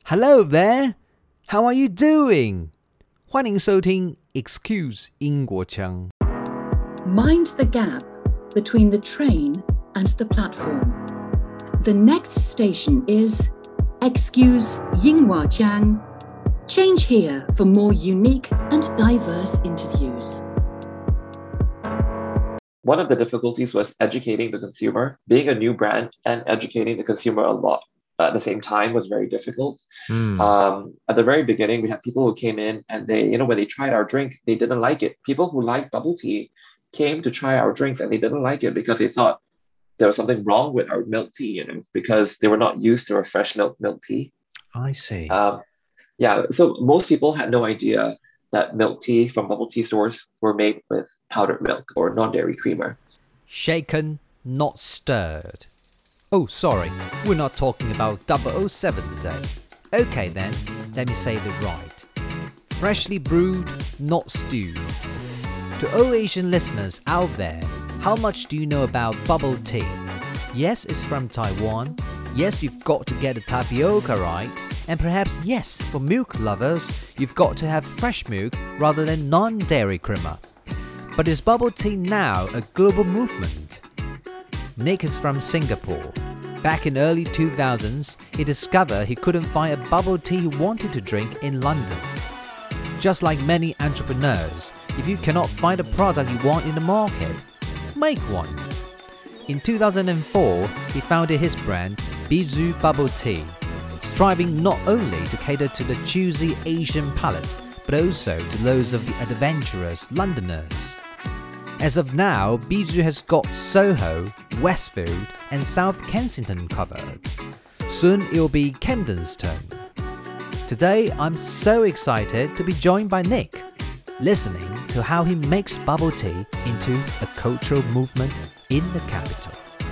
Hello there, how are you doing? 欢迎收听 Excuse 英国腔。 Mind the gap between the train and the platform. The next station is Excuse Yinghua Jiang. Change here for more unique and diverse interviews. One of the difficulties was educating the consumer. Being a new brand and educating the consumer a lot at the same time was very difficult. At the very beginning, we had people who came in and they, when they tried our drink, they didn't like it. People who liked bubble tea came to try our drinks and they didn't like it because they thought there was something wrong with our milk tea, because they were not used to a fresh milk tea. I see. So most people had no idea that milk tea from bubble tea stores were made with powdered milk or non-dairy creamer. Shaken, not stirred. Oh, sorry, we're not talking about 007 today. Okay then, let me say it right. Freshly brewed, not stewed. To all Asian listeners out there, how much do you know about bubble tea? Yes, it's from Taiwan. Yes, you've got to get the tapioca right. And perhaps, yes, for milk lovers, you've got to have fresh milk rather than non-dairy creamer. But is bubble tea now a global movement? Nick is from Singapore. Back in early 2000s, he discovered he couldn't find a bubble tea he wanted to drink in London. Just like many entrepreneurs, if you cannot find a product you want in the market, make one. In 2004, he founded his brand, Bijou Bubble Tea, striving not only to cater to the choosy Asian palate, but also to those of the adventurous Londoners. As of now, Bijou has got Soho, Westfield, and South Kensington covered. Soon it will be Camden's turn. Today, I'm so excited to be joined by Nick, listening to how he makes bubble tea into a cultural movement in the capital.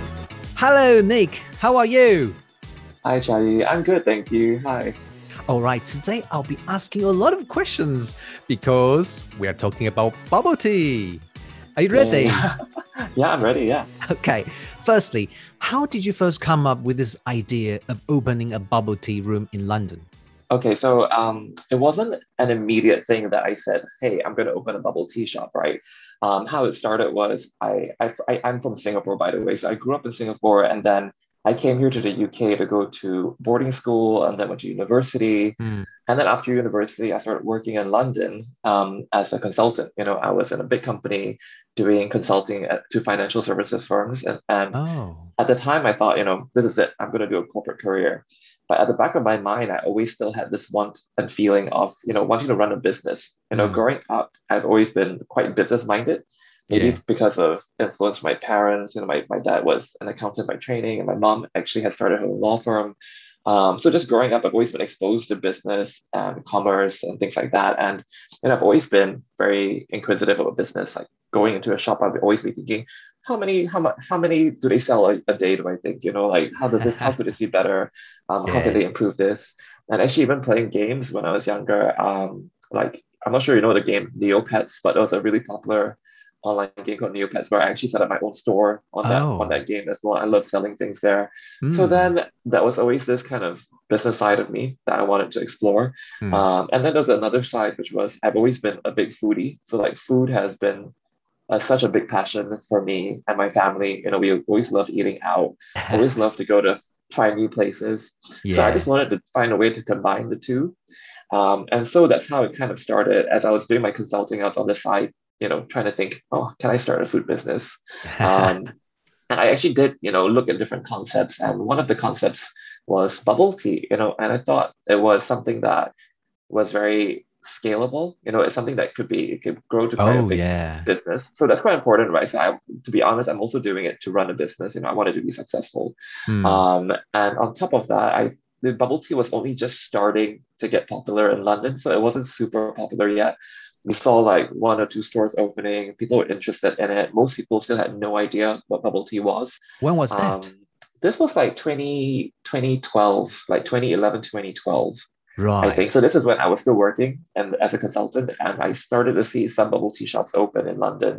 Hello, Nick. How are you? Hi, Charlie. I'm good, thank you. Hi. All right, today I'll be asking a lot of questions because we are talking about bubble tea. Are you ready? Yeah, I'm ready, yeah. Okay. Firstly, how did you first come up with this idea of opening a bubble tea room in London? Okay, so it wasn't an immediate thing that I said, hey, I'm going to open a bubble tea shop, right? How it started was I'm from Singapore, by the way. So I grew up in Singapore and then I came here to the UK to go to boarding school and then went to university. And then after university, I started working in London as a consultant. I was in a big company doing consulting to financial services firms. And at the time, I thought, this is it. I'm going to do a corporate career. But at the back of my mind, I always still had this want and feeling of, wanting to run a business. Growing up, I've always been quite business-minded. Maybe because of influence from my parents. My dad was an accountant by training, and my mom actually had started her own law firm. So just growing up, I've always been exposed to business and commerce and things like that. And I've always been very inquisitive about business. Like going into a shop, I'd always be thinking, how many do they sell a day, do I think? How could this be better? How can they improve this? And actually even playing games when I was younger, I'm not sure you know the game Neopets, but it was a really popular online game called Neopets where I actually set up my own store on that game as well. I love selling things there. So then that was always this kind of business side of me that I wanted to explore. And then there's another side, which was I've always been a big foodie. So food has been such a big passion for me and my family. We always love eating out, always love to go to try new places. So I just wanted to find a way to combine the two. And so that's how it kind of started. As I was doing my consulting, I was on the side, trying to think, can I start a food business? And I actually did, look at different concepts. And one of the concepts was bubble tea, and I thought it was something that was very scalable. It's something that could grow to quite a big business. So that's quite important, right? So to be honest, I'm also doing it to run a business. I wanted to be successful. And on top of that, the bubble tea was only just starting to get popular in London. So it wasn't super popular yet. We saw 1 or 2 stores opening. People were interested in it. Most people still had no idea what bubble tea was. When was that? This was 2012, 2011, 2012. I think so. Right. This is when I was still working and as a consultant, and I started to see some bubble tea shops open in London.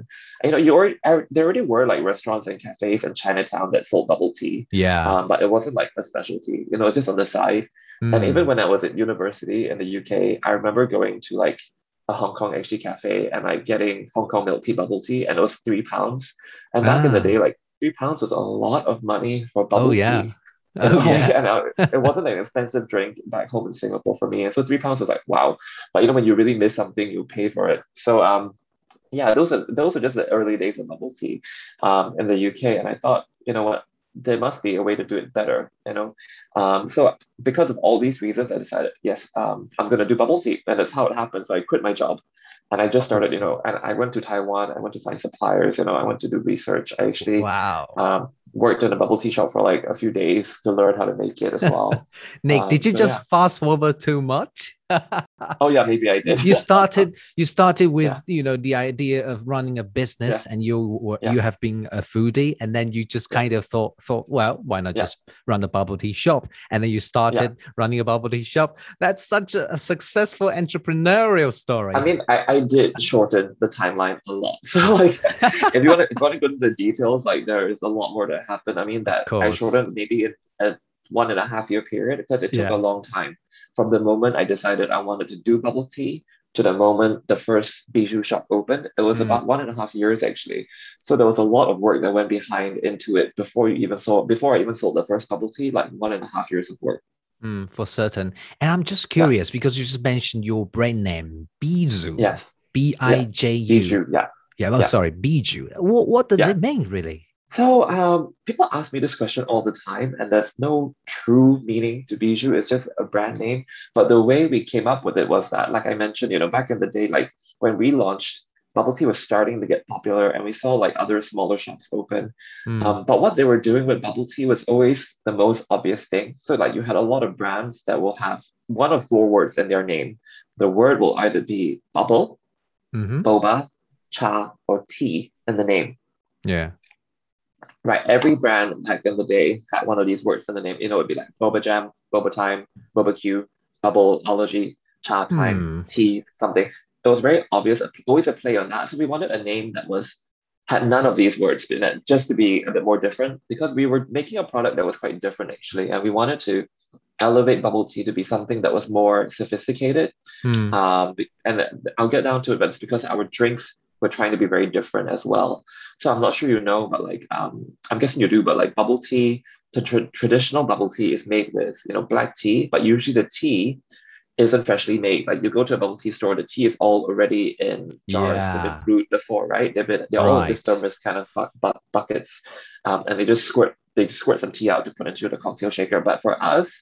There already were like restaurants and cafes in Chinatown that sold bubble tea, Yeah. but it wasn't like a specialty. It's just on the side. And even Mm. when I was at university in the UK, I remember going to like a Hong Kong HT cafe and like getting Hong Kong milk tea bubble tea, and it was £3. And back in the Ah. day, like £3 was a lot of money for Oh bubble yeah. tea. Oh yeah. It wasn't an expensive drink back home in Singapore for me. And so £3 was like, wow. But when you really miss something, you pay for it. So yeah, those are just the early days of bubble tea in the UK. And I thought, you know what, there must be a way to do it better. So because of all these reasons, I decided, yes, I'm gonna do bubble tea. And that's how it happened. So I quit my job and I just started, and I went to Taiwan, I went to find suppliers, I went to do research. I actually Wow. worked in a bubble tea shop for like a few days to learn how to make it as well. Nick, did you So yeah. just fast forward too much? Oh yeah, maybe I did. You started with Yeah, the idea of running a yeah, business, and yeah, you have been a foodie, and then you just yeah, kind of thought, well, why not yeah, just run a bubble tea shop? And then you yeah. started running a bubble tea shop. That's such a successful entrepreneurial I story. mean, I did shorten the timeline a lot. So like, if you want to go to the details, like there is a lot more that happened. I mean, Of that I course. shortened maybe in a 1.5 year period because it took a Yeah. long time from the moment I decided I wanted to do bubble tea to the moment the first bijou shop opened. It was Mm, about 1.5 years actually. So there was a lot of work that went behind into it before I even sold the first bubble tea, like 1.5 years of work. for certain. And I'm just Yeah. curious because you just mentioned your brand name, Bijou, Yes. Yeah. Biju. Bijou. Yeah. Yeah, oh, Yeah. sorry, Bijou. What does Yeah. it mean, really? So people ask me this question all the time, and there's no true meaning to Bijou. It's just a brand name. But the way we came up with it was that, like I mentioned, back in the day, like when we launched, bubble tea was starting to get popular, and we saw like other smaller shops open. Mm, But what they were doing with bubble tea was always the most obvious thing. So like you had a lot of brands that will have one of four words in their name. The word will either be bubble, hmm. boba, cha, or tea in the name. Yeah. Right, every brand back in the day had one of these words in the name. It'd be like Boba Jam, Boba Time, Boba Q, Bubbleology, Cha Time, Hmm. Tea, something. It was very obvious, always a play on that. So we wanted a name that had none of these words in it, just to be a bit more different, because we were making a product that was quite different actually, and we wanted to elevate bubble tea to be something that was more sophisticated. Hmm. And I'll get down to it, but it's because our drinks were trying to be very different as well. So I'm not sure but like I'm guessing you do, but like bubble tea, the traditional bubble tea is made with black tea, but usually the tea isn't freshly made. Like you go to a bubble tea store, the tea is all already in jars. They've been Yeah. brewed before, right? They're all in this Right. thermos kind of buckets, and they just squirt some tea out to put into the cocktail shaker. But for us,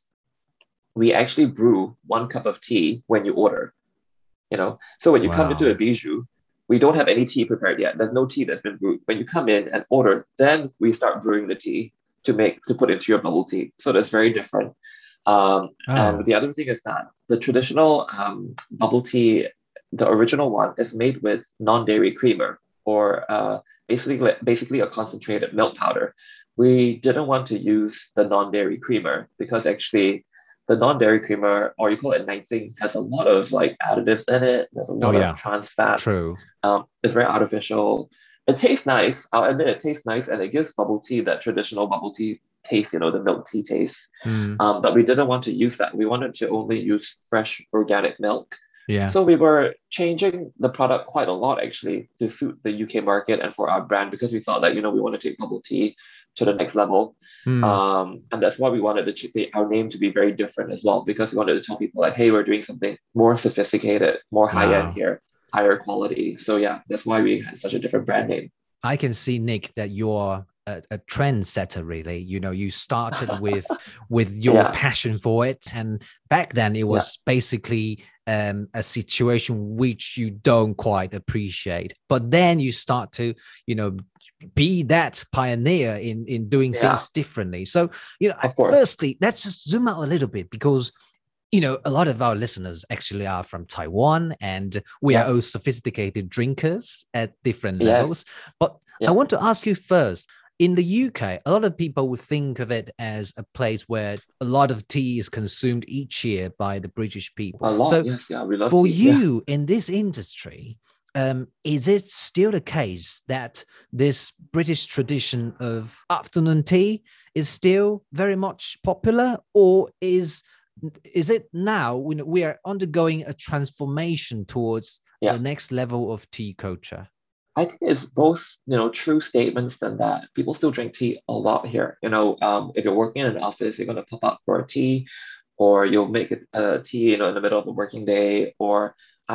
we actually brew 1 cup of tea when you order. So when you come into a Wow. bijou, we don't have any tea prepared yet. There's no tea that's been brewed. When you come in and order, then we start brewing the tea to put into your bubble tea. So that's very different. And Oh. the other thing is that the traditional bubble tea, the original one, is made with non-dairy creamer, or basically a concentrated milk powder. We didn't want to use the non-dairy creamer because actually the non-dairy creamer, or you call it Nighting, has a lot of like additives in it. There's a Oh lot of yeah. trans fats. True. It's very artificial. It tastes nice. I'll admit it tastes nice, and it gives bubble tea that traditional bubble tea taste, the milk tea taste. Hmm. But we didn't want to use that. We wanted to only use fresh organic milk. Yeah. So we were changing the product quite a lot actually to suit the UK market and for our brand, because we thought that we want to take bubble tea to the next level. Hmm. And that's why we wanted our name to be very different as well, because we wanted to tell people like, hey, we're doing something more sophisticated, more high end Wow. here, higher quality. So yeah, that's why we had such a different brand name. I can see, Nick, that you're a trendsetter, really. You started with your Yeah, passion for it. And back then it yeah, was basically a situation which you don't quite appreciate. But then you start to, you know, be that pioneer in doing yeah, things differently. So, of course. firstly, let's just zoom out a little bit because a lot of our listeners actually are from Taiwan, and we are Yeah, all sophisticated drinkers at different levels. yes, But I yeah, want to ask you first, in the UK, a lot of people would think of it as a place where a lot of tea is consumed each year by the British people. A lot, So yes, yeah, we love for tea. Yeah. you in this industry, is it still the case that this British tradition of afternoon tea is still very much popular, or is it now when we are undergoing a transformation towards Yeah. the next level of tea culture? I think it's both, true statements than that. People still drink tea a lot here. If you're working in an office, you're going to pop up for a tea, or you'll make a tea, in the middle of the working day. Or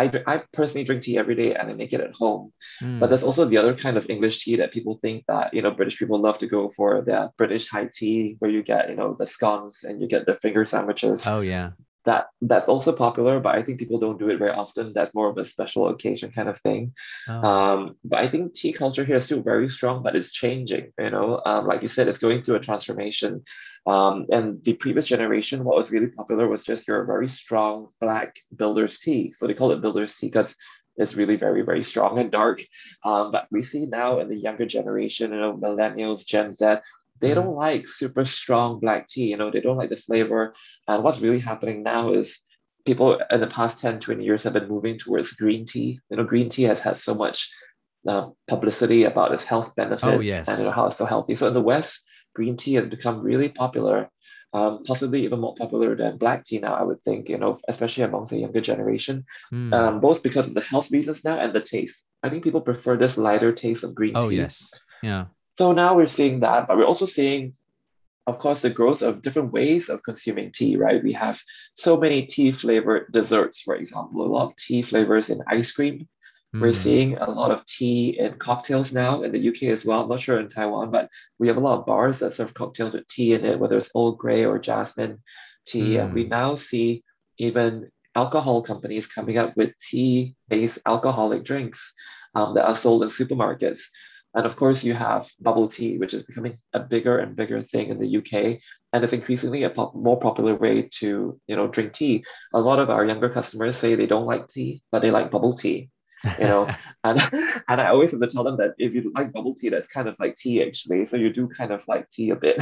I personally drink tea every day and I make it at home. But Mm. there's also the other kind of English tea that people think that, British people love to go for, the British high tea, where you get, the scones and you get the finger sandwiches. Oh yeah. That's also popular, but I think people don't do it very often. That's more of a special occasion kind of thing. Oh. But I think tea culture here is still very strong, but it's changing. Like you said, it's going through a transformation. And the previous generation, what was really popular was just your very strong black builder's tea. So they call it builder's tea because it's really very, very strong and dark. But we see now in the younger generation, millennials, Gen Z, they Mm. don't like super strong black tea. They don't like the flavor. And what's really happening now is people in the past 10, 20 years have been moving towards green tea. Green tea has had so much publicity about its health Oh benefits and yes. how it's so healthy. So in the West, green tea has become really popular, possibly even more popular than black tea now, I would think, especially amongst the younger generation, Mm. both because of the health reasons now and the taste. I think people prefer this lighter taste of green Oh tea. yes. Yeah. So now we're seeing that, but we're also seeing, of course, the growth of different ways of consuming tea, right? We have so many tea flavored desserts, for example, a lot of tea flavors in ice cream. We're Mm. seeing a lot of tea in cocktails now in the UK as well. I'm not sure in Taiwan, but we have a lot of bars that serve cocktails with tea in it, whether it's Earl Grey or jasmine tea. And we Mm. now see even alcohol companies coming up with tea-based alcoholic drinks that are sold in supermarkets. And of course, you have bubble tea, which is becoming a bigger and bigger thing in the UK, and it's increasingly a more popular way to, drink tea. A lot of our younger customers say they don't like tea, but they like bubble tea. You know, and and I always have to tell them that if you like bubble tea, that's kind of like tea actually. So you do kind of like tea a bit.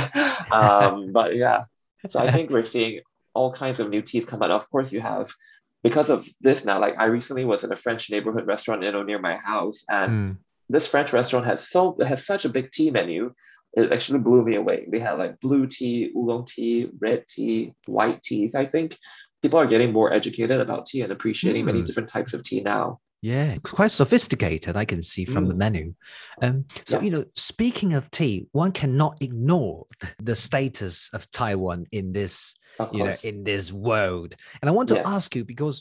But yeah, so I think we're seeing all kinds of new teas come out. Of course, you have because of this now. Like I recently was in a French neighborhood restaurant, near my house, and Mm. this French restaurant has such a big tea menu. It actually blew me away. They had like blue tea, oolong tea, red tea, white teas. I think people are getting more educated about tea and appreciating many Mm. different types of tea now. Yeah, quite sophisticated, I can see from the Mm, menu. So, yeah, speaking of tea, one cannot ignore the status of Taiwan in this, of course. in this world. And I want to Yes. ask you because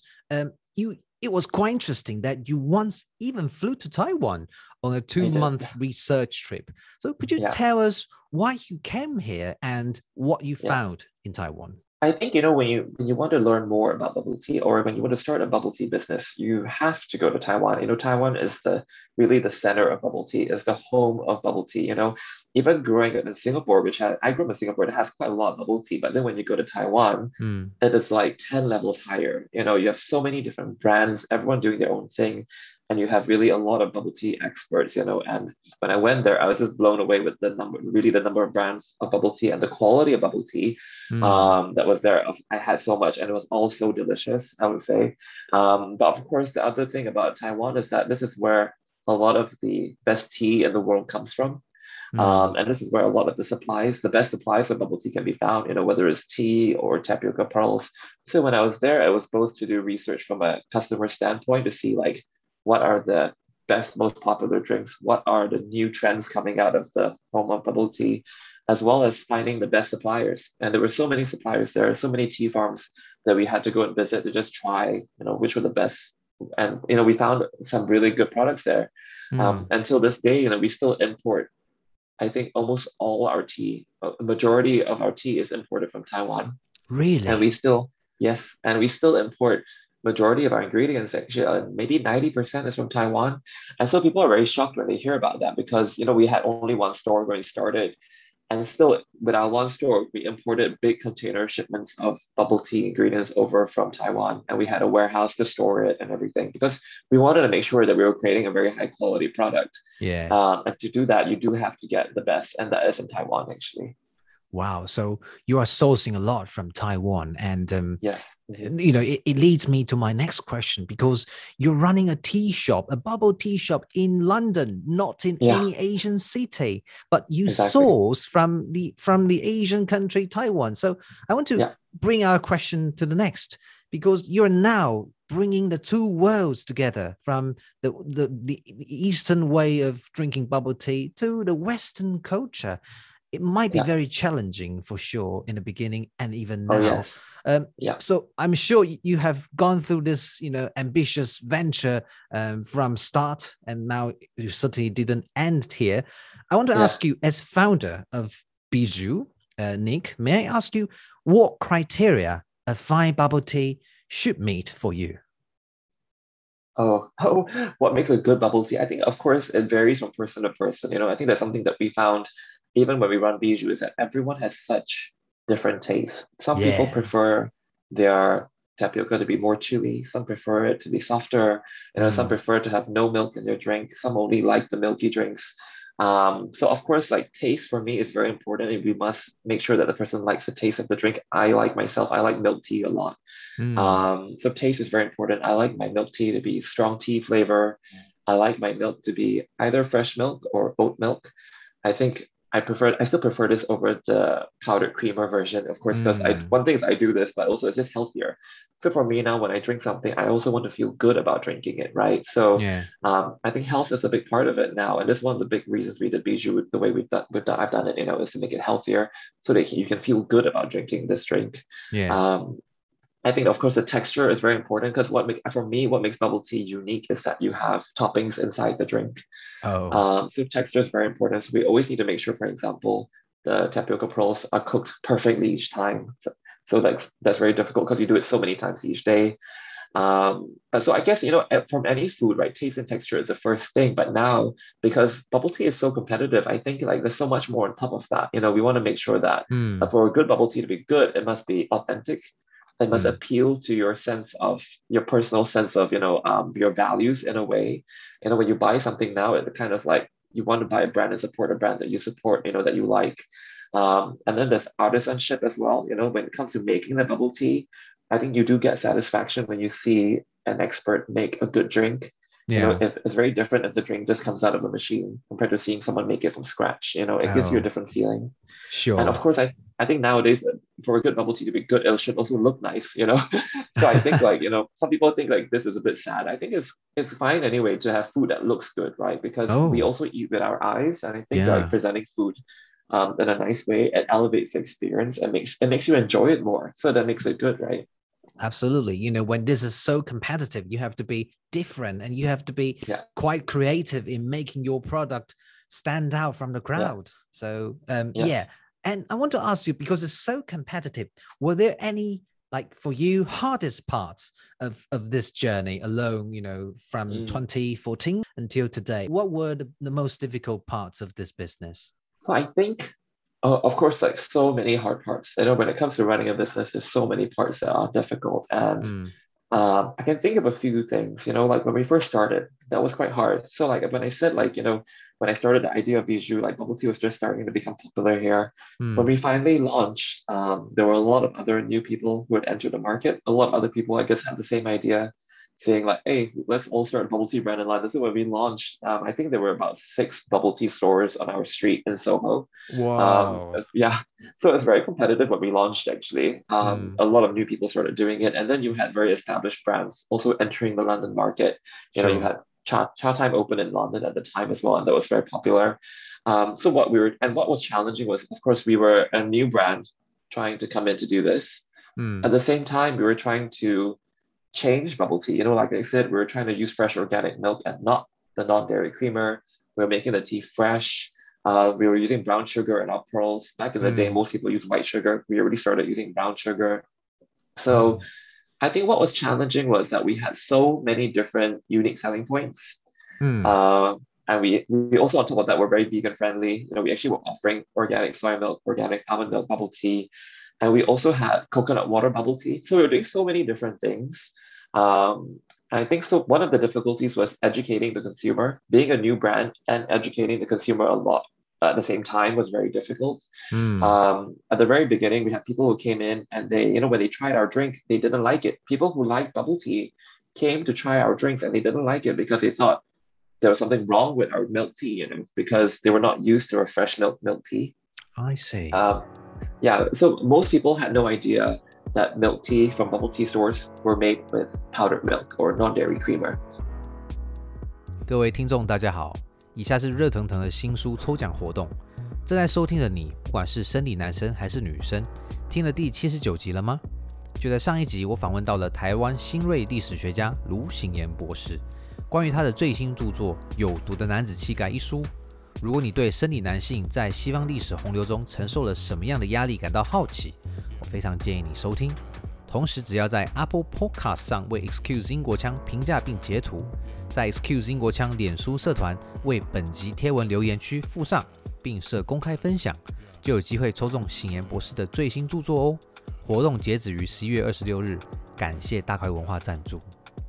it was quite interesting that you once even flew to Taiwan on a I did. 2-month research trip. So could you Yeah. tell us why you came here and what you Yeah. found in Taiwan? I think when you want to learn more about bubble tea or when you want to start a bubble tea business, you have to go to Taiwan. Taiwan is the really the center of bubble tea, is the home of bubble tea. Even growing up in Singapore, I grew up in Singapore, it has quite a lot of bubble tea, but then when you go to Taiwan, Mm. it is like 10 levels higher. You have so many different brands, everyone doing their own thing, and you have really a lot of bubble tea experts, and when I went there, I was just blown away with the number of brands of bubble tea and the quality of bubble tea Mm. that was there. I had so much, and it was all so delicious, I would say. But of course, the other thing about Taiwan is that this is where a lot of the best tea in the world comes from. Mm. And this is where a lot of the best supplies of bubble tea can be found, whether it's tea or tapioca pearls. So when I was there, I was both to do research from a customer standpoint to see like what are the best, most popular drinks, what are the new trends coming out of the home of bubble tea, as well as finding the best suppliers. And there were so many suppliers there, so many tea farms that we had to go and visit to just try, which were the best. And we found some really good products there. Mm. Until this day, we still import, I think, almost all our tea, a majority of our tea is imported from Taiwan. And Really? we still, yes, and we still import majority of our ingredients, actually, maybe 90% is from Taiwan. And so people are very shocked when they hear about that because, we had only one store when we started. And still, with our one store, we imported big container shipments of bubble tea ingredients over from Taiwan, and we had a warehouse to store it and everything because we wanted to make sure that we were creating a very high quality product. Yeah. And to do that, you do have to get the best, and that is in Taiwan actually. Wow. So you are sourcing a lot from Taiwan. And, Yes. Mhm. it leads me to my next question because you're running a tea shop, a bubble tea shop in London, not in Yeah, any Asian city, but you exactly. source from the Asian country, Taiwan. So I want to Yeah, bring our question to the next because you're now bringing the two worlds together from the Eastern way of drinking bubble tea to the Western culture. It might be yeah. very challenging for sure in the beginning and even Oh, now. yes. Um, Yeah, so I'm sure you have gone through this, ambitious venture from start, and now you certainly didn't end here. I want to yeah. ask you, as founder of Bijou, Nick, may I ask you what criteria a fine bubble tea should meet for you? Oh, what makes a good bubble tea? I think, of course, it varies from person to person. I think that's something that we found even when we run Bijou is that everyone has such different tastes. Some people Yeah. prefer their tapioca to be more chewy. Some prefer it to be softer. Some Mm, prefer to have no milk in their drink. Some only like the milky drinks. So of course, like taste for me is very important, and we must make sure that the person likes the taste of the drink. I like myself, I like milk tea a lot. mm, So taste is very important. I like my milk tea to be strong tea flavor. I like my milk to be either fresh milk or oat milk. I still prefer this over the powdered creamer version, of course, because mm. one thing is I do this, but also it's just healthier. So for me now, when I drink something, I also want to feel good about drinking it, right? So Yeah. I think health is a big part of it now, and this is one of the big reasons we did Bijou the way I've done it, is to make it healthier so that you can feel good about drinking this drink. Yeah. Um, I think, of course, the texture is very important because for me, what makes bubble tea unique is that you have toppings inside the drink. Oh. So texture is very important. So we always need to make sure, for example, the tapioca pearls are cooked perfectly each time. So that's very difficult because you do it so many times each day. But so I guess, from any food, right, taste and texture is the first thing. But now, because bubble tea is so competitive, I think like there's so much more on top of that. We want to make sure that Mm, for a good bubble tea to be good, it must be authentic. It must mm. appeal to your personal sense of, your values in a way. When you buy something now, it kind of like you want to buy a brand and support a brand that you support, that you like. And then there's artisanship as well. When it comes to making the bubble tea, I think you do get satisfaction when you see an expert make a good drink. Yeah. If it's very different if the drink just comes out of a machine compared to seeing someone make it from scratch. It gives you a Oh, different feeling. And of sure. course, I think nowadays for a good bubble tea to be good, it should also look nice. So I think like, some people think like this is a bit sad. I think it's fine anyway to have food that looks good, right? Because we Oh, also eat with our eyes, and I think like yeah. presenting food in a nice way, it elevates the experience and makes you enjoy it more. So that makes it good, right? Absolutely. When this is so competitive, you have to be different and you have to be Yeah, quite creative in making your product stand out from the yeah, crowd. So, yeah. yes. And I want to ask you, because it's so competitive, were there any, like for you, hardest parts of this journey alone, from Mm. 2014 until today? What were the most difficult parts of this business? So I think, of course, like so many hard parts. When it comes to running a business, there's so many parts that are difficult. And Mm, I can think of a few things, like when we first started, that was quite hard. So like when I said like, when I started the idea of Bijou, like bubble tea was just starting to become popular here. When mm, we finally launched, there were a lot of other new people who had entered the market. A lot of other people, I guess, had the same idea, saying like, hey, let's all start a bubble tea brand in London. So when we launched, I think there were about 6 bubble tea stores on our street in Soho. wow. Yeah, so it's very competitive when we launched actually. Mm, A lot of new people started doing it, and then you had very established brands also entering the London market. You sure. had Cha Time open in London at the time as well, and that was very popular. So what was challenging was, of course, we were a new brand trying to come in to do this. At Mm, the same time, we were trying to change bubble tea. Like I said, we were trying to use fresh organic milk and not the non-dairy creamer. We were making the tea fresh. We were using brown sugar in our pearls. Back in the day, mm. most people use white sugar. We already started using brown sugar. So Oh, I think what was challenging was that we had so many different unique selling points. mm, Uh, And we also, on top of that, we're very vegan friendly. You know, we actually were offering organic soy milk, organic almond milk bubble tea, and we also had coconut water bubble tea. So we were doing so many different things. And I think so. One of the difficulties was educating the consumer. Being a new brand and educating the consumer a lot at the same time was very difficult. Mm. At the very beginning, we had people who came in and they, you know, when they tried our drink, they didn't like it. People who liked bubble tea came to try our drinks and they didn't like it because they thought there was something wrong with our milk tea, you know, because they were not used to a fresh milk tea. I see. Yeah, so most people had no idea that milk tea from bubble tea stores were made with powdered milk or non-dairy creamer. 各位听众大家好，以下是热腾腾的新书抽奖活动。正在收听的你，不管是生理男生还是女生，听了第79集了吗？就在上一集，我訪問到了台灣新銳歷史學家盧省言博士，關於他的最新著作《有毒的男子氣概》一書。如果你對生理男性在西方歷史洪流中承受了什麼樣的壓力感到好奇，我非常建議你收聽。同時，只要在 Apple Podcast 上為 Excuse 英國腔評價並截圖，在 Excuse 英國腔臉書社團為本集貼文留言區附上，並設公開分享，就有機會抽中省言博士的最新著作哦。活動截止於11月26日，感謝大塊文化贊助。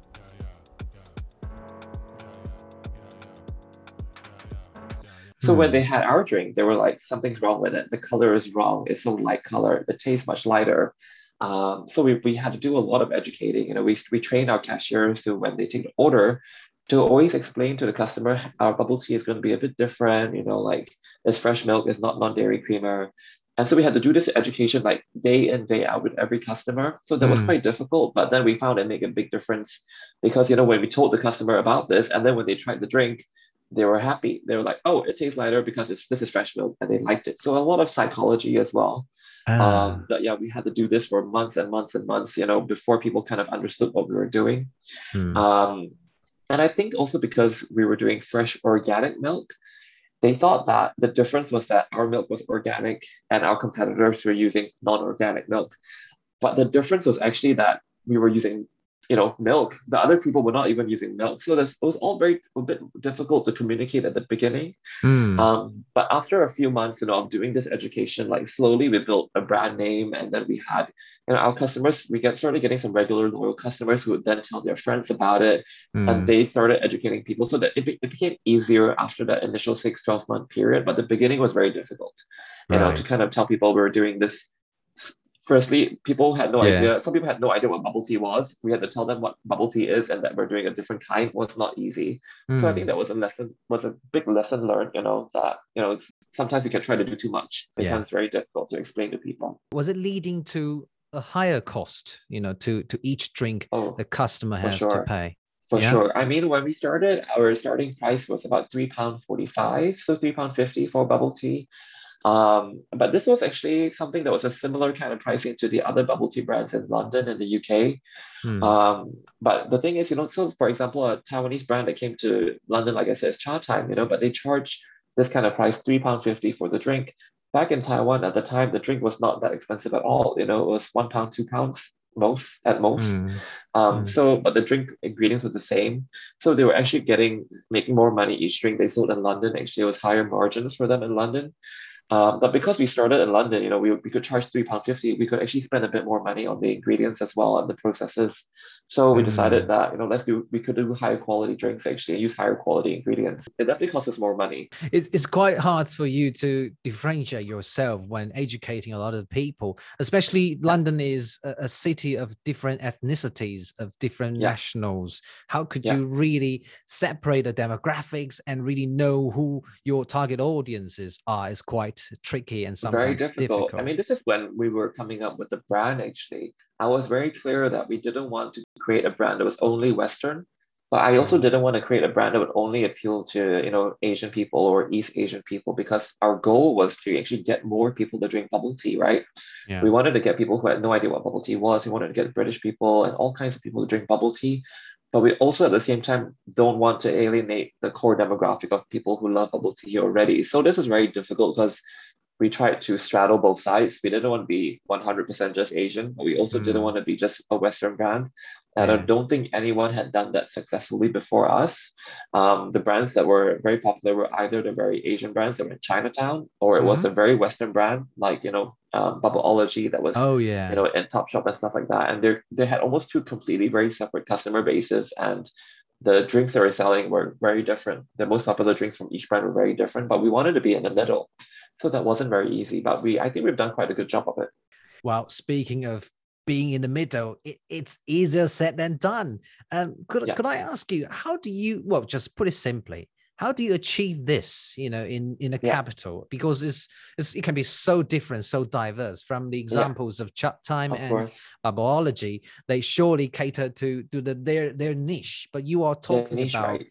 So when they had our drink, they were like, something's wrong with it. The color is wrong. It's so light color. It tastes much lighter. So we had to do a lot of educating. You know, we train our cashiers to, when they take the order, to always explain to the customer our bubble tea is going to be a bit different. You know, like it's fresh milk, it's not non-dairy creamer. And so we had to do this education like day in, day out with every customer. So that was quite difficult, but then we found it made a big difference because, you know, when we told the customer about this and then when they tried the drink, they were happy. They were like, oh, it tastes lighter because this is fresh milk, and they liked it. So a lot of psychology as well. But yeah, we had to do this for months and months and months, you know, before people kind of understood what we were doing. And I think also because we were doing fresh organic milk, they thought that the difference was that our milk was organic and our competitors were using non-organic milk. But the difference was actually that we were using, you know, milk. The other people were not even using milk. So it was all a bit difficult to communicate at the beginning. But after a few months, you know, of doing this education, like slowly we built a brand name, and then we had, you know, our customers, started getting some regular loyal customers who would then tell their friends about it, and they started educating people so that it became easier after that initial 6-12 month period. But the beginning was very difficult, you know, to kind of tell people we were doing this. Firstly, people had no idea. Some people had no idea what bubble tea was. We had to tell them what bubble tea is and that we're doing a different kind was not easy. So I think that was a big lesson learned, you know, that, you know, sometimes you can try to do too much. It becomes very difficult to explain to people. Was it leading to a higher cost, you know, to each drink the customer has to pay? For sure. I mean, when we started, our starting price was about £3.45, so £3.50 for bubble tea. But this was actually something that was a similar kind of pricing to the other bubble tea brands in London and the UK. But the thing is, you know, so for example, a Taiwanese brand that came to London, like I said, is Cha Time, you know, but they charge this kind of price, £3.50 for the drink. Back in Taiwan at the time, the drink was not that expensive at all. You know, it was £1, £2 at most. So, but the drink ingredients were the same. So they were actually making more money each drink they sold in London. Actually, it was higher margins for them in London. But because we started in London, you know, we could charge £3.50. We could actually spend a bit more money on the ingredients as well and the processes. So we decided that, you know, we could do higher quality drinks actually and use higher quality ingredients. It definitely costs us more money. It's quite hard for you to differentiate yourself when educating a lot of people, especially London is a city of different ethnicities, of different nationals. How could you really separate the demographics and really know who your target audiences are? Is quite tricky and sometimes very difficult. I mean, this is when we were coming up with the brand, actually. I was very clear that we didn't want to create a brand that was only Western, but I also didn't want to create a brand that would only appeal to, you know, Asian people or East Asian people, because our goal was to actually get more people to drink bubble tea, right? We wanted to get people who had no idea what bubble tea was. We wanted to get British people and all kinds of people to drink bubble tea. But we also, at the same time, don't want to alienate the core demographic of people who love bubble tea already. So this was very difficult because we tried to straddle both sides. We didn't want to be 100% just Asian, but we also didn't want to be just a Western brand. And I Yeah. don't think anyone had done that successfully before us. The brands that were very popular were either the very Asian brands that were in Chinatown, or it was Hmm. a very Western brand like, Bubbleology that was, Oh yeah. in Topshop and stuff like that. And they had almost two completely very separate customer bases, and the drinks they were selling were very different. The most popular drinks from each brand were very different, but we wanted to be in the middle. So that wasn't very easy, but I think we've done quite a good job of it. Well, speaking of being in the middle, it's easier said than done. Could Yeah, could I ask you, how do you, well, just put it simply, how do you achieve this, in a yeah, capital? Because it can be so different, so diverse. From the yeah, examples of Chat Time of and course. Biology, they surely cater to their niche. But you are The talking niche, about right?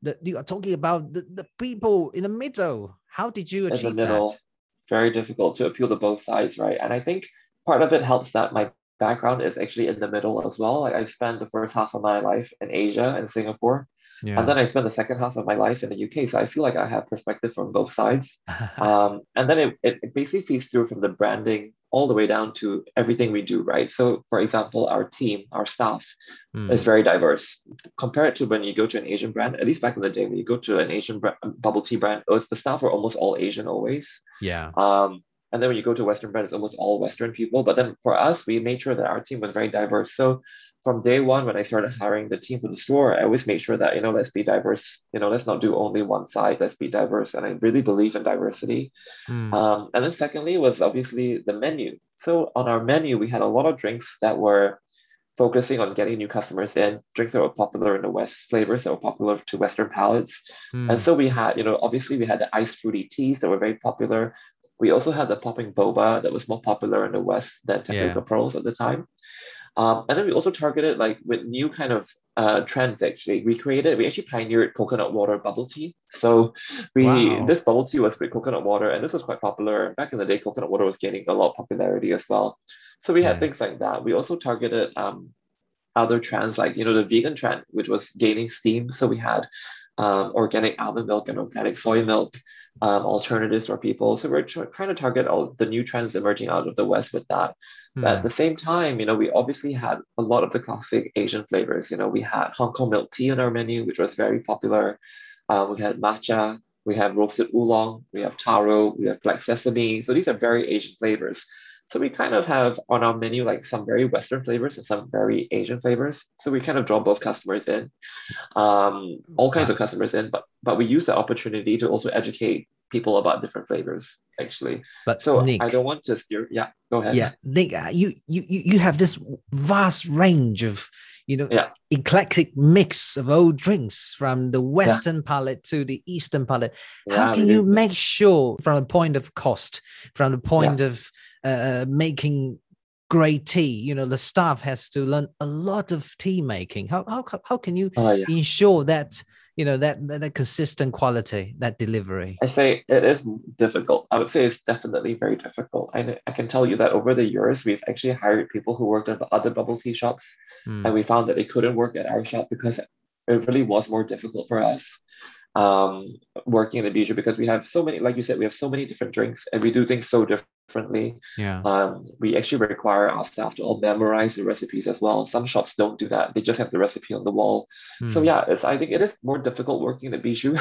the people in the middle. How did you In the achieve that? middle, very difficult to appeal to both sides, right? And I think part of it helps that my background is actually in the middle as well. Like I spent the first half of my life in Asia and Singapore, and Yeah. then I spent the second half of my life in the UK. So I feel like I have perspective from both sides. And then it basically feeds through from the branding all the way down to everything we do, right? So for example, our team, our staff is Hmm. very diverse. Compare it to when you go to an Asian brand, at least back in the day, when you go to an bubble tea brand, the staff were almost all Asian always. Yeah. And then when you go to a Western brand, it's almost all Western people. But then for us, we made sure that our team was very diverse. So from day one, when I started hiring the team for the store, I always made sure that, let's be diverse. Let's not do only one side. Let's be diverse. And I really believe in diversity. Hmm. And then secondly was obviously the menu. So on our menu, we had a lot of drinks that were focusing on getting new customers in, drinks that were popular in the West, flavors that were popular to Western palates. And Hmm. so we had, obviously we had the iced fruity teas that were very popular. We also had the popping boba that was more popular in the West than Yeah. tapioca pearls at the time. And then we also targeted like with new kind of trends actually. We actually pioneered coconut water bubble tea. So Wow. this bubble tea was with coconut water, and this was quite popular. Back in the day, coconut water was gaining a lot of popularity as well. So we had Yeah. things like that. We also targeted other trends like the vegan trend, which was gaining steam. So we had organic almond milk and organic soy milk alternatives for people. So we're trying to target all the new trends emerging out of the West with that. But at Hmm. the same time, we obviously had a lot of the classic Asian flavors. We had Hong Kong milk tea on our menu, which was very popular. We had matcha, we have roasted oolong, we have taro, we have black sesame. So these are very Asian flavors. So we kind of have on our menu like some very Western flavors and some very Asian flavors. So we kind of draw both customers in, all kinds Wow. of customers in, but we use the opportunity to also educate people about different flavors, actually. But So I don't Nick, want to steer. Yeah, go ahead. yeah, Nick, you have this vast range of, Yeah, eclectic mix of old drinks from the yeah, Western palate to the Eastern palate. How yeah, we can you do. make sure, from the point of cost, from the Yeah, point of making great tea, the staff has to learn a lot of tea making. How can you yeah. ensure that, that consistent quality, that delivery? I say it is difficult. I would say it's definitely very difficult. I can tell you that over the years, we've actually hired people who worked at other bubble tea shops, and Hmm. we found that they couldn't work at our shop because it really was more difficult for us working in the bistro because we have so many, like you said, we have so many different drinks and we do things so differently. Yeah. We actually require our staff to all memorize the recipes as well. Some shops don't do that; they just have the recipe on the wall. So Hmm. yeah, I think it is more difficult working in the bistro,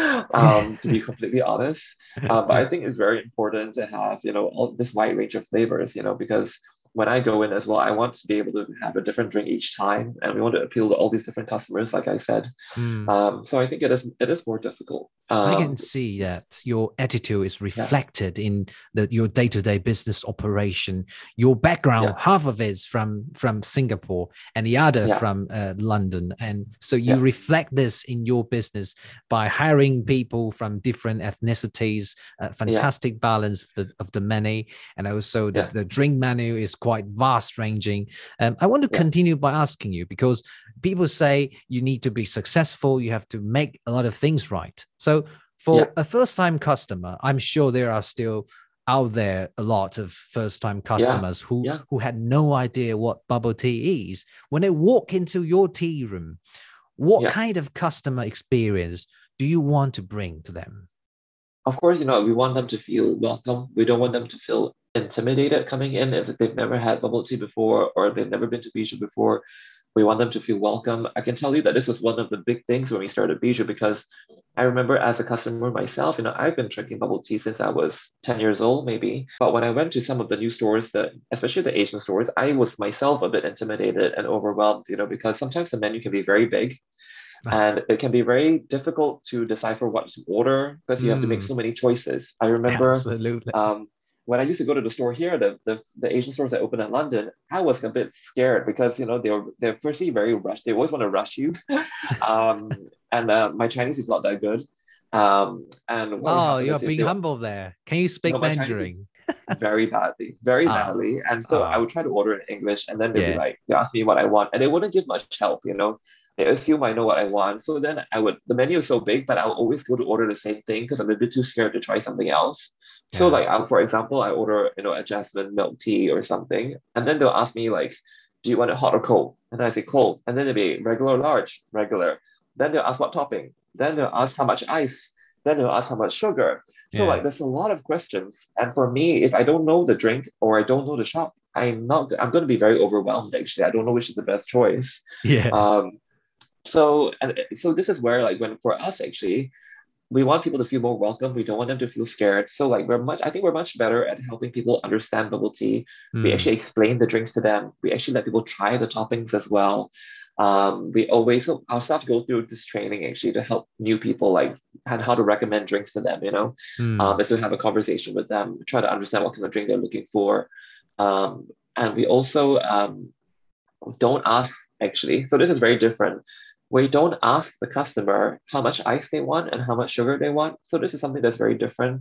to be completely honest. But I think it's very important to have all this wide range of flavors, because when I go in as well, I want to be able to have a different drink each time, and we want to appeal to all these different customers, like I said. Hmm. So I think it is more difficult. I can see that your attitude is Yeah, reflected in your day-to-day business operation. Your background, yeah, half of it is from Singapore, and the other yeah, from London, and so you yeah, reflect this in your business by hiring people from different ethnicities. yeah, Fantastic balance of the many, and also the, yeah, the drink menu is quite vast ranging. I want to yeah, continue by asking you, because people say you need to be successful, you have to make a lot of things right. So yeah, for a first time customer, I'm sure there are still out there a lot of first time yeah, customers who yeah, who had no idea what bubble tea is. When they walk into your tea room, what yeah. kind of customer experience do you want to bring to them? Of course, we want them to feel welcome. We don't want them to feel intimidated coming in if they've never had bubble tea before or they've never been to Bijou before. We want them to feel welcome. I can tell you that this was one of the big things when we started Bijou, because I remember as a customer myself, I've been drinking bubble tea since I was 10 years old, maybe. But when I went to some of the new stores, especially the Asian stores, I was myself a bit intimidated and overwhelmed, because sometimes the menu can be very big and it can be very difficult to decipher what to order because you have to make so many choices. I remember Absolutely. when I used to go to the store here, the Asian stores that opened in London, I was a bit scared because they're firstly very rushed. They always want to rush you, and my Chinese is not that good. And what would Oh, happen you're is if being humble there. Can you speak my Chinese is Mandarin? very badly, very Ah, badly. And so I ah, would try to order in English, and then they'd be yeah, like, they ask me what I want, and they wouldn't give much help. They assume I know what I want. So then the menu is so big, but I'll always go to order the same thing because I'm a bit too scared to try something else. So yeah, like, for example, I order, a jasmine milk tea or something, and then they'll ask me like, do you want it hot or cold? And then I say cold, and then they'll be regular, or large, regular. Then they'll ask what topping. Then they'll ask how much ice. Then they'll ask how much sugar. So yeah, like there's a lot of questions. And for me, if I don't know the drink or I don't know the shop, I'm going to be very overwhelmed actually. I don't know which is the best choice. yeah. Um, so this is where like when for us actually, we want people to feel more welcome. We don't want them to feel scared. So like I think we're much better at helping people understand bubble tea. We Hmm. actually explain the drinks to them. We actually let people try the toppings as well. So our staff go through this training actually to help new people like and how to recommend drinks to them, Hmm. is to have a conversation with them, try to understand what kind of drink they're looking for. And we also don't ask actually. So this is very different. We don't ask the customer how much ice they want and how much sugar they want. So this is something that's very different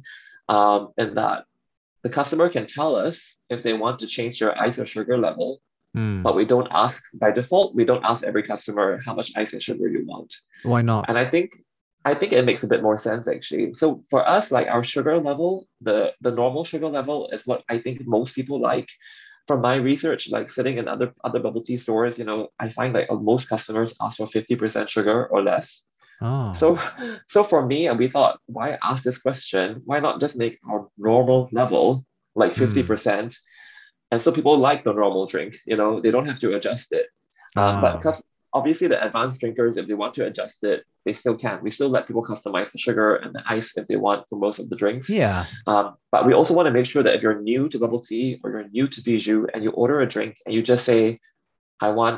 in that the customer can tell us if they want to change their ice or sugar level, Hmm. but we don't ask by default. We don't ask every customer how much ice and sugar you want. Why And not? I think it makes a bit more sense actually. So for us, like our sugar level, the normal sugar level is what I think most people like. From my research, like sitting in other bubble tea stores, I find like most customers ask for 50% sugar or less. Oh. So so for me, and we thought, why ask this question? Why not just make our normal level like Hmm. 50%? And so people like the normal drink, they don't have to adjust it. But Oh. because obviously the advanced drinkers, if they want to adjust it, they still can. We still let people customize the sugar and the ice if they want for most of the drinks. Yeah. But we also want to make sure that if you're new to bubble tea or you're new to Bijou and you order a drink and you just say, I want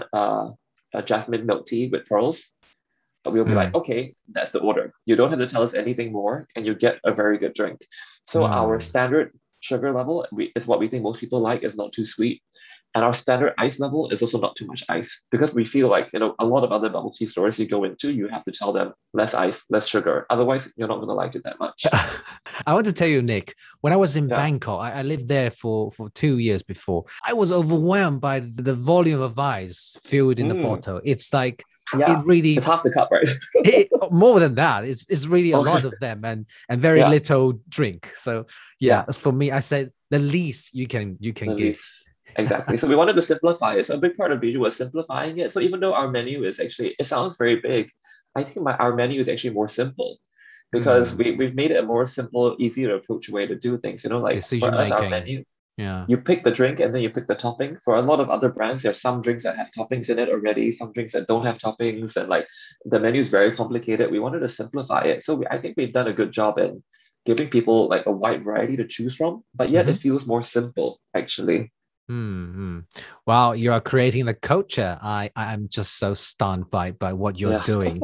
a jasmine milk tea with pearls, we'll be like, Hmm. okay, that's the order. You don't have to tell us anything more, and you get a very good drink. So our Hmm. standard sugar level is what we think most people like, is not too sweet. And our standard ice level is also not too much ice because we feel like, a lot of other bubble tea stores you go into, you have to tell them less ice, less sugar. Otherwise, you're not going to like it that much. I want to tell you, Nick, when I was in Yeah. Bangkok, I lived there for 2 years before. I was overwhelmed by the volume of ice filled in the Mm, bottle. It's like it yeah. really It's half the cup, right? more than that. It's really a lot Okay. of them and very Yeah. little drink. So yeah, Yeah. for me, I said the least you can The give. least. Exactly. So we wanted to simplify it. So a big part of Bijou was simplifying it. So even though our menu is actually, it sounds very big, I think our menu is actually more simple because Hmm. we've made it a more simple, easy to approach way to do things. Like for Decision us, our making. menu, Yeah. you pick the drink and then you pick the topping. For a lot of other brands, there's some drinks that have toppings in it already, some drinks that don't have toppings, and like the menu is very complicated. We wanted to simplify it. So I think we've done a good job in giving people like a wide variety to choose from, but yet it Mm-hmm. feels more simple actually. Hmm. Wow, you are creating a culture. I'm just so stunned by what you're Yeah. doing.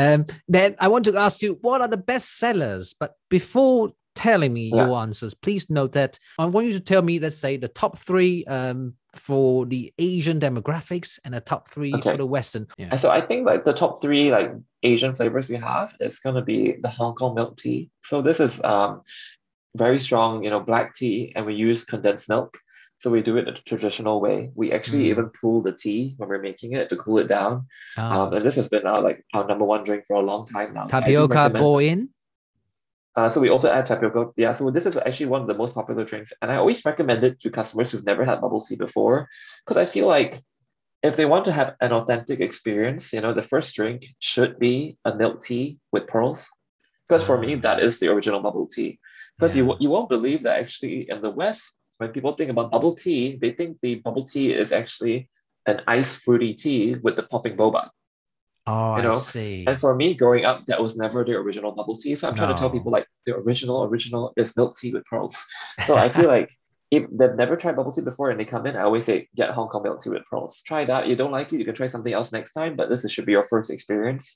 Then I want to ask you, what are the best sellers? But before telling me Yeah. your answers, please note that I want you to tell me, let's say, the top three for the Asian demographics and the top three for Okay. the Western. Yeah. And so I think like the top three like Asian flavors we have is gonna be the Hong Kong milk tea. So this is very strong, black tea, and we use condensed milk. So we do it the traditional way. We actually Mm. even cool the tea when we're making it to cool it down. Oh, And this has been our number one drink for a long time now. So I do tapioca recommend. boy in. So we also add tapioca. Yeah, so this is actually one of the most popular drinks, and I always recommend it to customers who've never had bubble tea before, because I feel like if they want to have an authentic experience, the first drink should be a milk tea with pearls. Because for me, that Ah, is the original bubble tea. Because yeah. you won't believe that actually in the West, when people think about bubble tea, they think the bubble tea is actually an iced fruity tea with the popping boba, Oh, you I know? And see. for me, growing up, that was never the original bubble tea. So I'm trying to tell people No. like the original is milk tea with pearls. So I feel like if they've never tried bubble tea before and they come in, I always say get Hong Kong milk tea with pearls. Try that. You don't like it, you can try something else next time, but should be your first experience.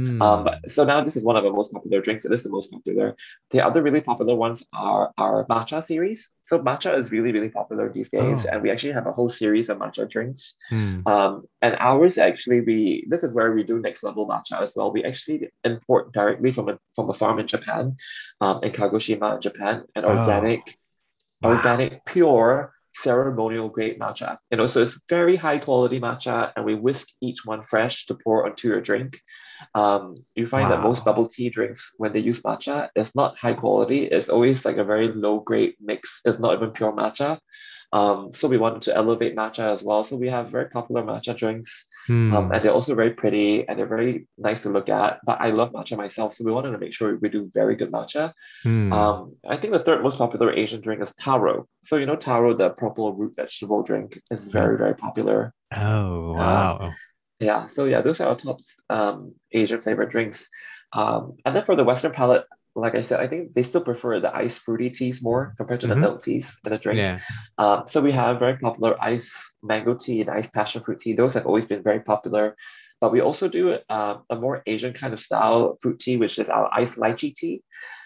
But Hmm. so now this is one of the most popular drinks. It is the most popular. The other really popular ones are our matcha series. So matcha is really, really popular these days, and Oh. we actually have a whole series of matcha drinks. Hmm. And ours actually, we this is where we do next level matcha as well. We actually import directly from a farm in Japan, in Kagoshima in Japan, an Oh. Wow. organic, pure ceremonial grade matcha. So it's very high quality matcha, and we whisk each one fresh to pour onto your drink. You find that most Wow. bubble tea drinks, when they use matcha, it's not high quality. It's always like a very low grade mix. It's not even pure matcha. So we wanted to elevate matcha as well. So we have very popular matcha drinks, Hmm. and they're also very pretty and they're very nice to look at. But I love matcha myself, so we wanted to make sure we do very good matcha. Hmm. I think the third most popular Asian drink is taro. So taro, the purple root vegetable drink, is very, very popular. Oh, Um, wow. yeah, so yeah, those are our top Asian flavored drinks. And then for the Western palate, like I said, I think they still prefer the iced fruity teas more compared to the Hmm. milk teas in a drink. Yeah. So we have very popular iced mango tea and iced passion fruit tea. Those have always been very popular. But we also do a more Asian kind of style fruit tea, which is our iced lychee tea.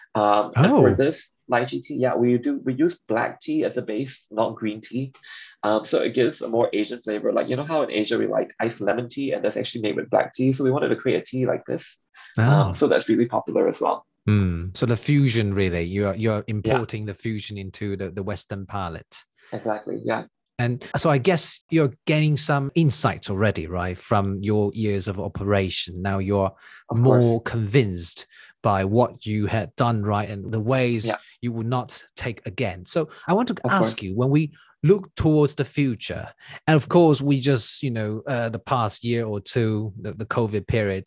And for Oh. this lychee tea, yeah, we use black tea as a base, not green tea. So it gives a more Asian flavor. Like how in Asia we like iced lemon tea, and that's actually made with black tea. So we wanted to create a tea like this. Oh. So that's really popular as well. Hmm. So the fusion, really, you're Yeah, importing the fusion into the Western palate. exactly. Yeah, And so I guess you're gaining some insights already, right, from your years of operation. Now you're of course. more convinced by what you had done right and the ways Yeah, you would not take again. So I want to of ask course. you, when we look towards the future, and of course we just, the past year or two, the COVID period,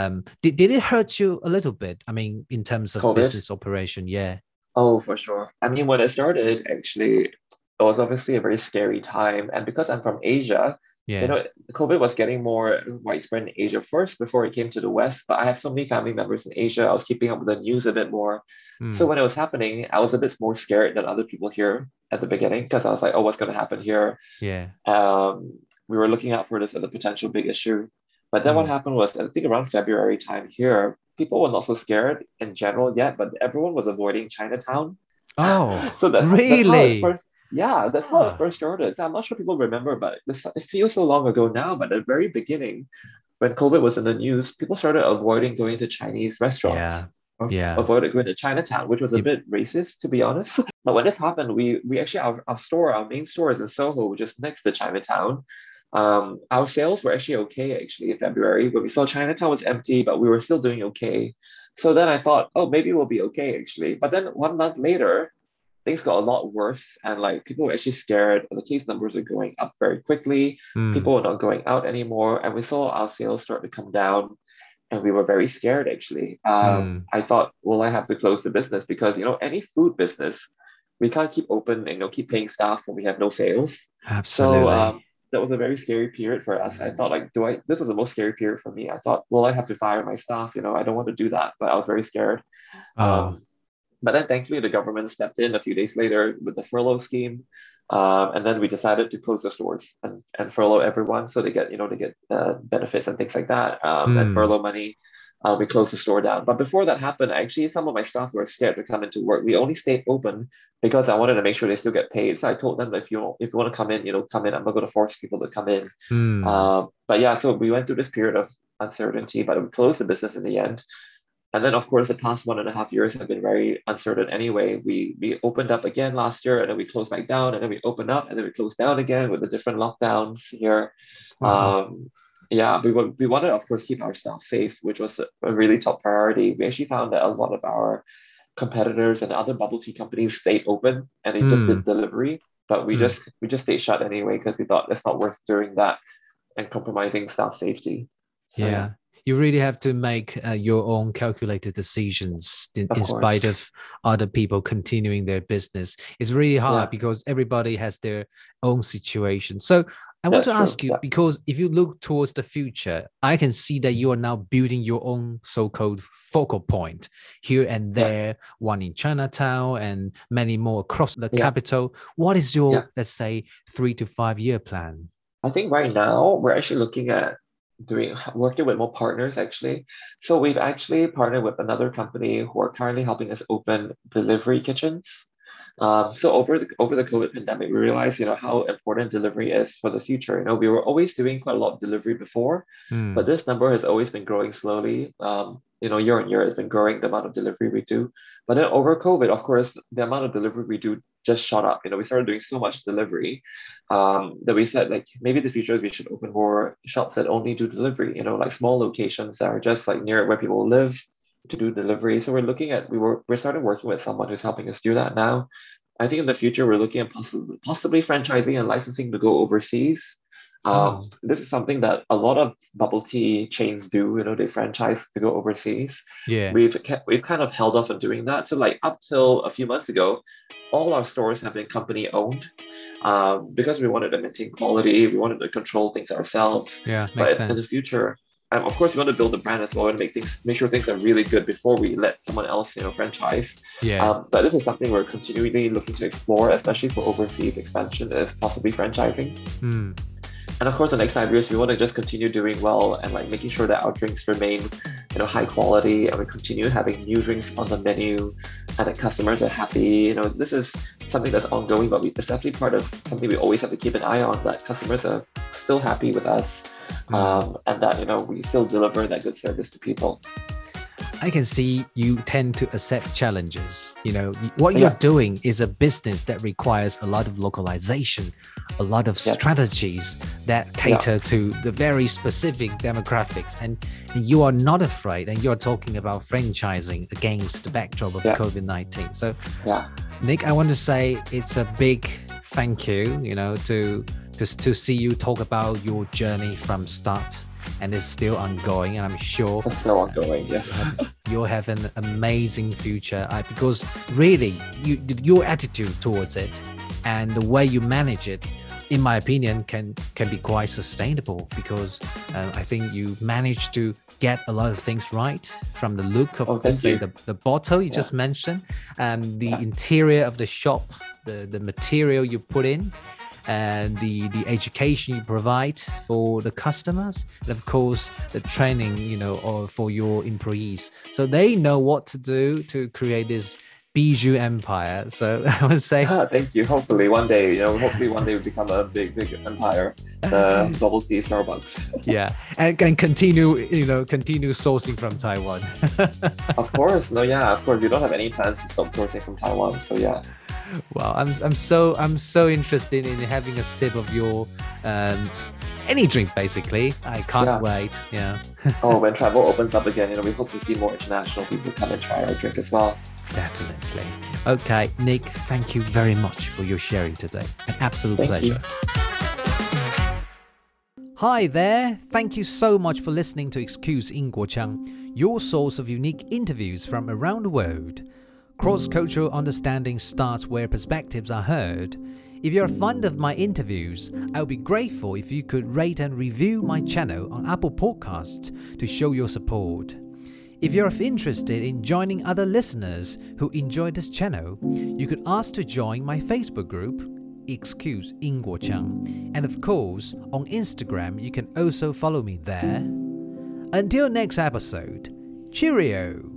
did it hurt you a little bit? I mean, in terms of COVID. business operation, yeah, Oh, for sure. I mean, when it started, actually, it was obviously a very scary time. And because I'm from Asia, yeah. COVID was getting more widespread in Asia first before it came to the West. But I have so many family members in Asia. I was keeping up with the news a bit more. So Mm, when it was happening, I was a bit more scared than other people here at the beginning because I was like, oh, what's going to happen here? yeah. We were looking out for this as a potential big issue. But then what Mm. happened was, I think around February time here, people were not so scared in general yet, but everyone was avoiding Chinatown. Oh, So that's how it really? first, yeah, that's how it Ah, first started. So I'm not sure people remember, but it feels so long ago now. But at the very beginning, when COVID was in the news, people started avoiding going to Chinese restaurants yeah, or yeah. avoided going to Chinatown, which was a Yep. bit racist, to be honest. But when this happened, we actually our main store is in Soho, which is next to Chinatown. Our sales were actually okay actually in February, but we saw Chinatown was empty, but we were still doing okay. So then I thought, oh, maybe we'll be okay actually. But then 1 month later, things got a lot worse, and like people were actually scared. The case numbers are going up very quickly. Mm, People were not going out anymore, and we saw our sales start to come down, and we were very scared actually. mm. I thought, well, I have to close the business because any food business, we can't keep open and keep paying staff when we have no sales. So Absolutely. that was a very scary period for us. I thought like, this was the most scary period for me. I thought, well, I have to fire my staff. I don't want to do that, but I was very scared. Oh, Um, but then thankfully the government stepped in a few days later with the furlough scheme. And then we decided to close the stores and furlough everyone so they get benefits and things like that, and mm, furlough money. We closed the store down. But before that happened, actually, some of my staff were scared to come into work. We only stayed open because I wanted to make sure they still get paid. So I told them that if you want to come in, come in. I'm not going to force people to come in. mm. But yeah, so we went through this period of uncertainty, but we closed the business in the end. And then, of course, the past 1.5 years have been very uncertain anyway. We opened up again last year, and then we closed back down, and then we opened up, and then we closed down again with the different lockdowns here. Wow. Yeah, we wanted, of course, keep our staff safe, which was a really top priority. We actually found that a lot of our competitors and other bubble tea companies stayed open and they just did Mm, delivery, but we mm. just stayed shut anyway because we thought it's not worth doing that and compromising staff safety. So yeah. Yeah. You really have to make your own calculated decisions in spite of other people continuing their business. It's really hard because everybody has their own situation. So I want to ask you, because if you look towards the future, I can see that you are now building your own so-called focal point here and there, one in Chinatown and many more across the capital. What is your, let's say, 3 to 5 year plan? I think right now we're actually looking at working with more partners actually. So we've actually partnered with another company who are currently helping us open delivery kitchens. So over the COVID pandemic, we realized, how important delivery is for the future. We were always doing quite a lot of delivery before, but this number has always been growing slowly. Year on year, it's been growing the amount of delivery we do. But then over COVID, of course, the amount of delivery we do just shot up. We started doing so much delivery that we said, like, maybe in the future we should open more shops that only do delivery. Like small locations that are just like near where people live, to do delivery. So we're started working with someone who's helping us do that now. I think in the future we're looking at possibly franchising and licensing to go overseas. This is something that a lot of bubble tea chains do. They franchise to go overseas. Yeah, we've kind of held off on doing that. So like up till a few months ago, all our stores have been company owned. Because we wanted to maintain quality, we wanted to control things ourselves. Yeah, makes sense. In the future, of course, we want to build a brand as well and make sure things are really good before we let someone else, franchise. Yeah. But this is something we're continually looking to explore, especially for overseas expansion, is possibly franchising. And of course, the next 5 years, we want to just continue doing well and like making sure that our drinks remain, high quality, and we continue having new drinks on the menu, and that customers are happy. This is something that's ongoing, but it's definitely part of something we always have to keep an eye on, that customers are still happy with us. And that, we still deliver that good service to people. I can see you tend to accept challenges. What you're doing is a business that requires a lot of localization, a lot of strategies that cater to the very specific demographics. And you are not afraid, and you're talking about franchising against the backdrop of COVID-19. So, Nick, I want to say it's a big thank you, to see you talk about your journey from start, and it's still ongoing, and I'm sure it's still ongoing. Yes, you'll have an amazing future because really, your attitude towards it and the way you manage it, in my opinion, can be quite sustainable, because I think you managed to get a lot of things right, from the look of the bottle you just mentioned, and the interior of the shop, the material you put in, and the education you provide for the customers, and of course the training, or for your employees, so they know what to do to create this bijou empire. So I would say thank you. Hopefully one day, we become a big empire, bubble tea Starbucks. and continue sourcing from Taiwan. Of course. Of course, we don't have any plans to stop sourcing from Taiwan, so yeah. Wow, I'm so interested in having a sip of your any drink, basically. I can't wait. When travel opens up again, we hope to see more international people come and try our drink as well. Definitely. Okay, Nick, thank you very much for your sharing today. An absolute pleasure. Hi there. Thank you so much for listening to Excuse 英国腔, your source of unique interviews from around the world. Cross-cultural understanding starts where perspectives are heard. If you're fond of my interviews, I would be grateful if you could rate and review my channel on Apple Podcasts to show your support. If you're interested in joining other listeners who enjoy this channel, you could ask to join my Facebook group, Excuse 英国腔, and of course, on Instagram, you can also follow me there. Until next episode, cheerio!